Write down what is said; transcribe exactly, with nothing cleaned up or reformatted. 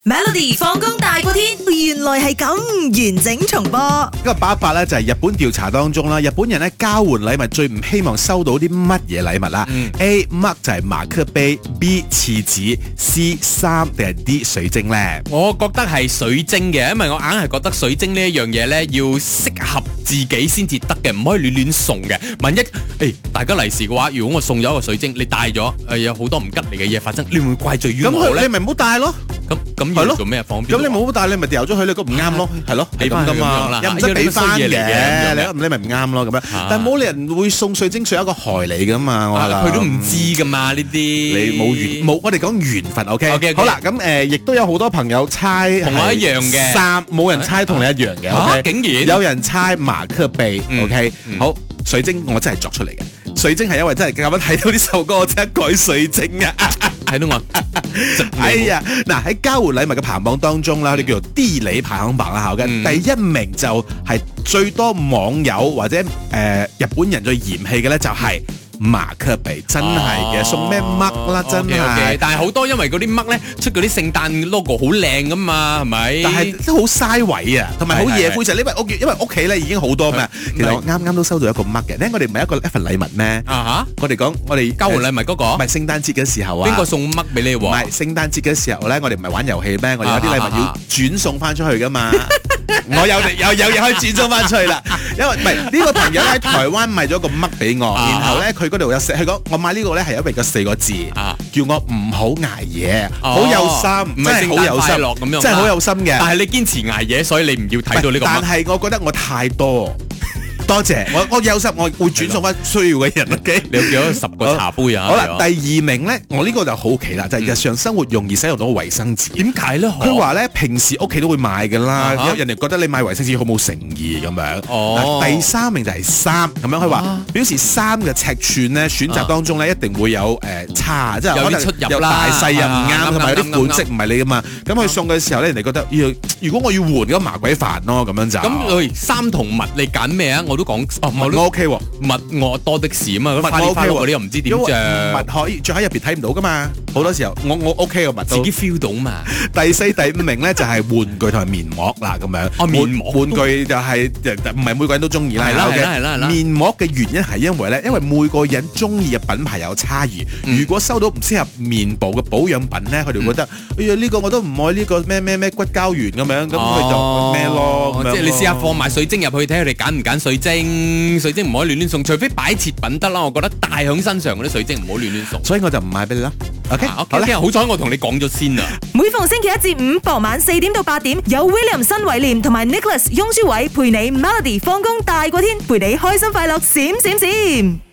Melody 放工大過天，原來係咁完整重播。 呢個八一八咧就係日本調查當中啦，日本人咧交換禮物最唔希望收到啲乜嘢禮物啦、嗯、？A 乜就係馬克杯 ，B 廁紙 ，C 衫定係 D 水晶咧？ 我覺得係水晶嘅，因為我硬係覺得水晶呢一樣嘢咧要適合自己先至得嘅，唔可以亂亂送嘅。萬一誒、欸、大家利是嘅話，如果我送咗一個水晶，你戴咗誒有好多唔吉利嘅嘢發生，你會唔會怪罪於我咧？ 咁你咪唔好戴咯。 咁咁要做咩方便？ 咁你冇戴，你咪掉咗佢，你咁唔啱咯，係咯， 俾翻咁樣啦， 又唔使俾翻嘅，你你咪唔啱咯咁樣。但係冇人會送水晶水一個害你噶嘛，我佢都唔知噶嘛呢啲。 你冇緣冇，我哋講緣分 ，OK。好啦，咁誒，亦都有好多朋友猜同我一樣嘅， 三冇人猜同你一樣嘅，OK。 竟然有人猜馬克杯 ，OK。好，水晶我真係作出嚟嘅。水晶係因為真係咁樣睇到呢首歌，我即刻改水晶啊！ 睇到我， 哎呀，嗱喺交換禮物嘅排行榜當中啦，我哋叫做地理排行榜啦，嘅、嗯、第一名就係最多網友或者誒、呃、日本人最嫌棄嘅咧，就係、是。馬克杯真係嘅，送咩嘜啦，真係。 但係好多因為嗰啲嘜咧出嗰啲聖誕 logo 好靚噶嘛，係咪？ 但係都好嘥位啊，同埋好夜灰就因為屋因為屋企咧已經好多咩？其實我啱啱都收到一個嘜嘅，咧我哋唔係一個一份禮物咩？啊哈！我哋講我哋交換禮物嗰個，唔係聖誕節嘅時候啊。 邊個送嘜俾你喎？ 唔係聖誕節嘅時候咧，我哋唔係玩遊戲咩？我哋有啲禮物要轉送翻出去噶嘛。我有有有嘢可以轉送翻出去啦，因為唔係呢個朋友喺台灣買咗個嘜俾我，然後咧佢嗰度有寫，佢講我買呢個咧係因為個四個字，叫我唔好捱夜，好有心，真係好有心咁樣，真係好有心嘅。 但係你堅持捱夜，所以你唔要睇到呢個嘜。 但係我覺得我太多。多謝我，我有心，我會轉送翻需要嘅人。OK， 你有幾多十個茶杯啊？ 好啦，第二名咧，我呢個就好奇啦，就係日常生活容易使用到衛生紙。 點解咧？ 佢話咧，平時屋企都會買㗎啦，人哋覺得你買衛生紙好冇誠意咁樣。哦。第三名就係衫咁樣，佢話表示衫嘅尺寸咧選擇當中咧一定會有誒差，即係可能有大細又唔啱，同埋有啲款式唔係你㗎嘛。咁佢送嘅時候咧，人哋覺得要如果我要換咁麻鬼煩咯，咁樣就。 咁佢衫同襪你揀咩啊？我都講哦，襪我 OK 喎， 襪我多的是啊嘛， 襪我 OK 喎， 嗰啲又唔知點着， 襪可以着喺入邊睇唔到噶嘛，好多時候我我 OK 個襪自己 feel 到嘛。 第四、第五名咧就係玩具同埋面膜啦，咁樣。 哦，面膜玩具就係唔係每個人都中意啦。 係啦係啦係啦係啦。 面膜嘅原因係因為咧，因為每個人中意嘅品牌有差異。如果收到唔適合面部嘅保養品咧，佢哋覺得哎呀呢個我都唔愛呢個咩咩咩骨膠原咁樣，咁佢就咩咯。 即係你試下放埋水晶入去睇佢哋揀唔揀水晶。水晶唔可以亂亂送，除非擺設品得啦。我覺得戴喺身上嗰啲水晶唔好亂亂送，所以我就唔買俾你啦。OK， 好啦，好彩我同你講咗先啊。 每逢星期一至五傍晚四點到八點，有 William 新偉廉同埋 Nicholas 雍舒偉陪你 Melody 放工大過天，陪你開心快樂閃閃閃。